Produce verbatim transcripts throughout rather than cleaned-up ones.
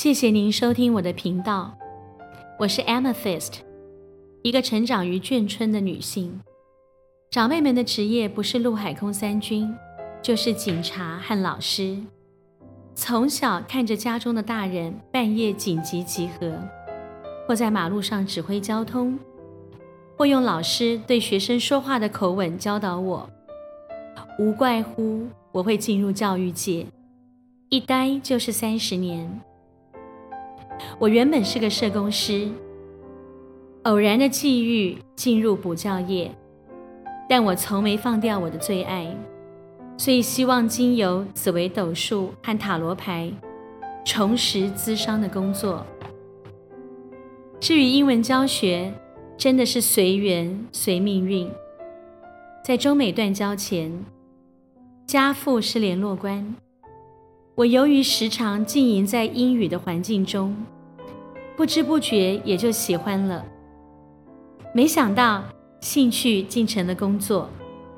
謝謝您收聽我的頻道，我是 Amethyst， 一個成長於眷村的女性。長輩們的職業不是陸海空三軍，就是警察和老師。從小看着家中的大人半夜緊急集合，或在馬路上指揮交通，或用老師對學生說話的口吻教導我，無怪乎我會進入教育界，一待就是三十年。我原本是個社工師，偶然的際遇進入補教業，但我從沒放掉我的最愛，所以希望經由紫微斗數和塔羅牌重拾諮商的工作。至於英文教學，真的是隨緣隨命運。在中美斷交前，家父是聯絡官，我由於時常浸淫在英語的環境中，不知不覺也就喜歡了。沒想到興趣竟成了工作。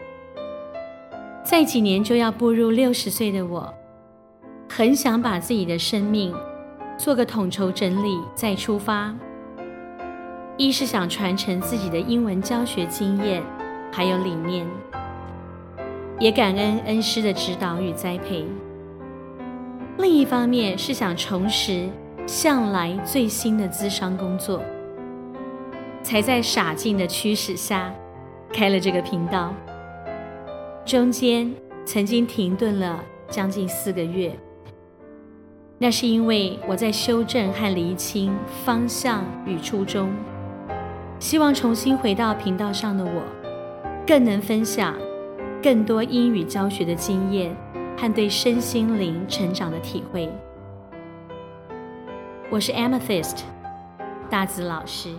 再幾年就要步入六十歲的我，很想把自己的生命做個統籌整理再出發。一是想傳承自己的英文教學經驗還有理念，也感恩恩師的指導與栽培。另一方面是想重拾向來最新的諮商工作，才在傻勁的驅使下開了這個頻道。中間曾經停頓了將近四個月，那是因為我在修正和釐清方向與初衷，希望重新回到頻道上的我，更能分享更多英語教學的經驗和對身心靈成長的體會。我是 Amethyst 大紫老師。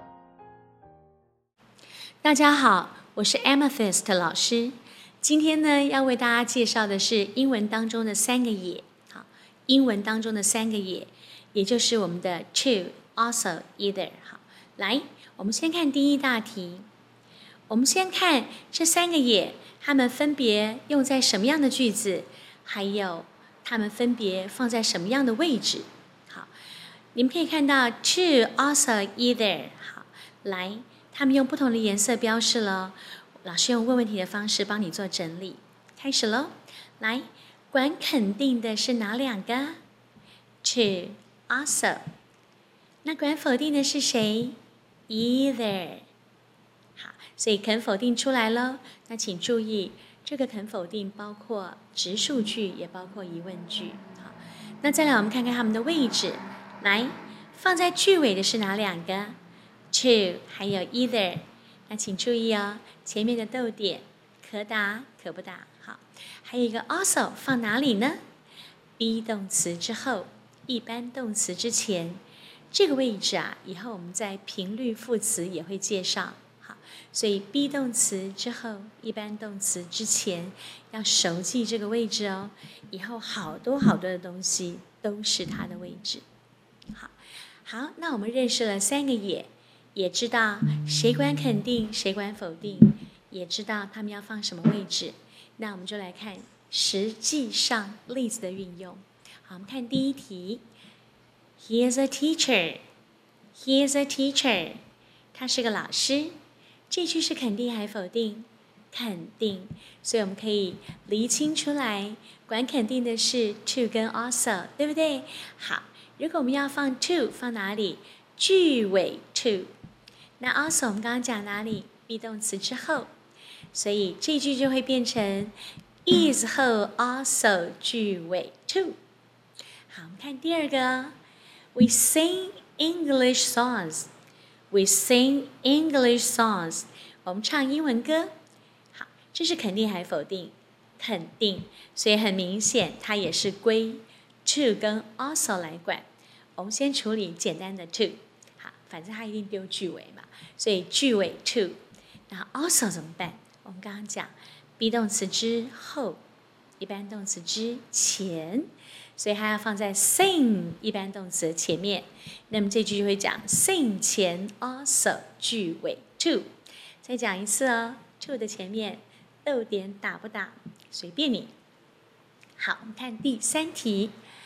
大家好，我是 Amethyst 老師。今天呢，要為大家介紹的是英文當中的三個也。好，英文當中的三個也，也就是我們的 to、also、either。好，來，我們先看第一大題。我們先看這三個也，它們分別用在什麼樣的句子，還有它們分別放在什麼樣的位置。好，你們可以看到 to、also、either。好，來，它們用不同的顏色標示了。老師用問問題的方式幫你做整理，開始嘍。來，管肯定的是哪兩個 ？to、also。那管否定的是誰 ？either。好，所以肯否定出來嘍。那請注意，這個肯否定包括直述句，也包括疑問句。好，那再來我們看看它們的位置。來，放在句尾的是哪兩個 ？to 還有 either。那請注意哦，前面的逗點可打可不打。好，還有一個 also 放哪裡呢 ？be 動詞之後，一般動詞之前，這個位置啊，以後我們在頻率副詞也會介紹。好，所以 be 動詞之後，一般動詞之前，要熟記這個位置哦。以後好多好多的東西都是它的位置。好，好，那我們認識了三個也。也知道誰管肯定，誰管否定，也知道他們要放什麼位置。那我們就來看實際上例子的運用。好，我們看第一題。He is a teacher. He is a teacher. 他是個老師。這句是肯定還否定？肯定。所以我們可以釐清出來，管肯定的是 to 跟 also， 對不對？好，如果我們要放 to， 放哪裡？句尾 to。那 also 我們剛剛講哪裡 ？be 動詞之後，所以這句就會變成 is 後 also 句尾 to。好，我們看第二個 ，We sing English songs. We sing English songs. 我們唱英文歌。好，這是肯定還否定？肯定，所以很明顯它也是歸 to 跟 also 來管。我們先處理簡單的 to。反正它一定丟句尾嘛，所以句尾 to， 然後 also 怎麼辦？我們剛剛講 be 動詞之後，一般動詞之前，所以它要放在 sing 一般動詞的前面。那麼這句就會講 sing 前 also 句尾 to。再講一次哦 ，to 的前面逗點打不打？隨便你。好，我們看第三題。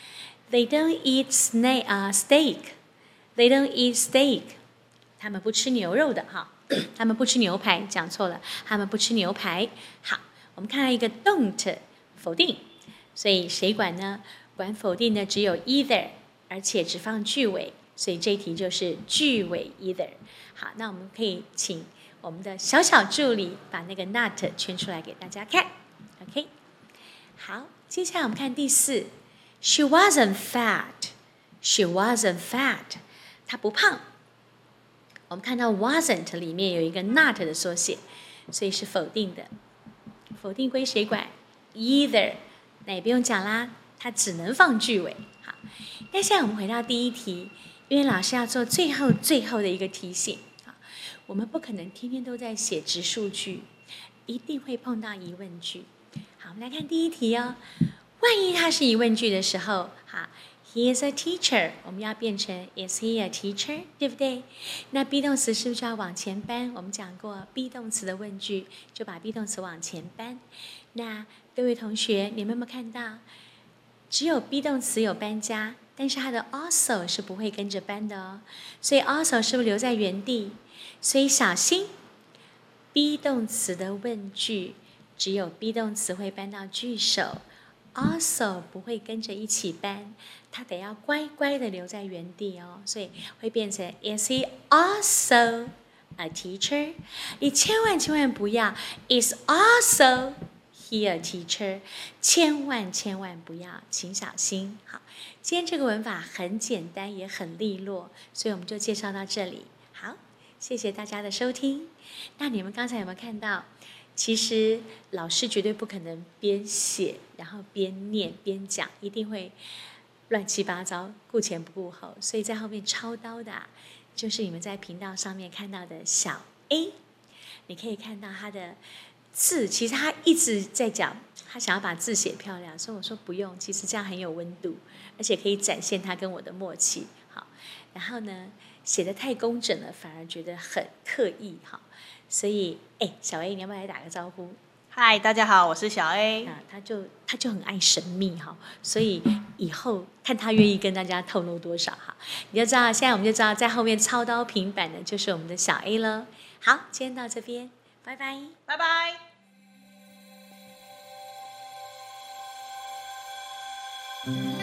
They don't eat snake 啊、uh, steak. They don't eat steak. 他們不吃牛肉的哈，他們不吃牛排，講錯了，他們不吃牛排。好，我們看到一個 don't 否定，所以誰管呢？管否定的只有 either， 而且只放句尾，所以這一題就是句尾 either。好，那我們可以請我們的小小助理把那個 not 圈出來給大家看。OK， 好，接下來我們看第四。She wasn't fat. She wasn't fat. 她不胖。我們看到 wasn't 裡面有一個 not 的縮寫，所以是否定的。否定歸誰管 ？Either。那也不用講啦，它只能放句尾。好，那現在我們回到第一題，因為老師要做最後最後的一個提醒。好，我們不可能天天都在寫直述句，一定會碰到疑問句。好，我們來看第一題哦。萬一它是疑問句的時候，好 ，He is a teacher， 我們要變成 Is he a teacher， 對不對？那 be 動詞是不是就要往前搬？我們講過 be 動詞的問句，就把 be 動詞往前搬。那各位同學，你們有沒有看到，只有 be 動詞有搬家，但是它的 also 是不會跟着搬的哦。所以 also 是不是留在原地？所以小心 be 動詞的問句，只有 be 動詞會搬到句首。Also 不會跟着一起搬，它得要乖乖的留在原地哦，所以會變成 Is he also a teacher？ 你千萬千萬不要 Is also he a teacher？ 千萬千萬不要，請小心。好，今天這個文法很簡單，也很利落，所以我們就介紹到這裡。好，謝謝大家的收聽。那你們剛才有沒有看到？其實老師絕對不可能邊寫然後邊念邊講，一定會亂七八糟，顧前不顧後。所以在後面操刀的、啊，就是你們在頻道上面看到的小 A， 你可以看到他的字，其實他一直在講，他想要把字寫漂亮，所以我說不用，其實這樣很有溫度，而且可以展現他跟我的默契。好，然後呢，寫得太工整了，反而覺得很刻意。好。所以，哎，小 A， 你要不要來打個招呼？ 嗨，大家好，我是小 A。 啊，他就他就很愛神秘哈，所以以後看他願意跟大家透露多少哈，你就知道。現在我們就知道，在後面操刀平板的就是我們的小 A 了。好，今天到這邊，拜拜， 拜拜。 嗯